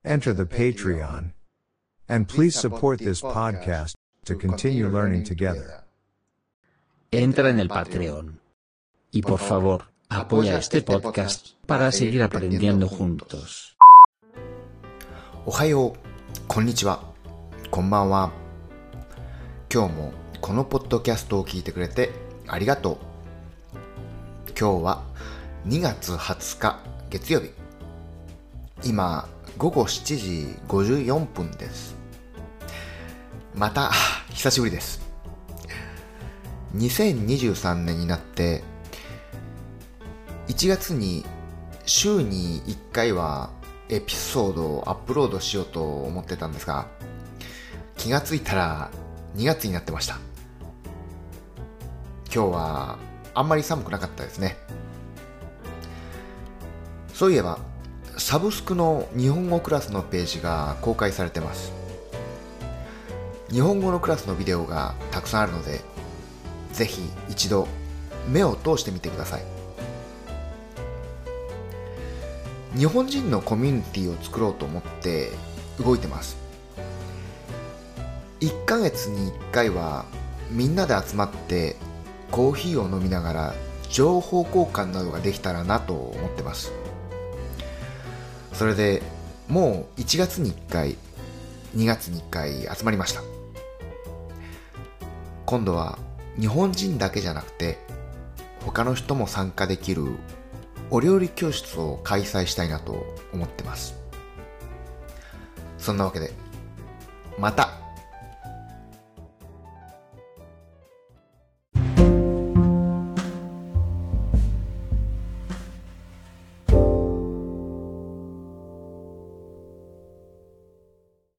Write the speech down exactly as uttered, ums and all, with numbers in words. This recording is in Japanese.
Enter the Patreon. And please support this podcast to continue learning together. Entra en el Patreon. Y por favor, apoya este podcast para seguir aprendiendo juntos. おはよう、こんにちは、こんばんは。今日もこのポッドキャストを聞いてくれてありがとう。今日はにがつはつか月曜日。今ごごしちじごじゅうよんぷんです。また久しぶりです。にせんにじゅうさんねんになっていちがつに週にいっかいはエピソードをアップロードしようと思ってたんですが、気がついたらにがつになってました。今日はあんまり寒くなかったですね。そういえばサブスクの日本語クラスのページが公開されてます。日本語のクラスのビデオがたくさんあるので、ぜひ一度目を通してみてください。日本人のコミュニティを作ろうと思って動いてます。いっかげつにいっかいはみんなで集まってコーヒーを飲みながら情報交換などができたらなと思ってます。それでもういちがつにいっかい、にがつにいっかい集まりました。今度は日本人だけじゃなくて他の人も参加できるお料理教室を開催したいなと思ってます。そんなわけでまた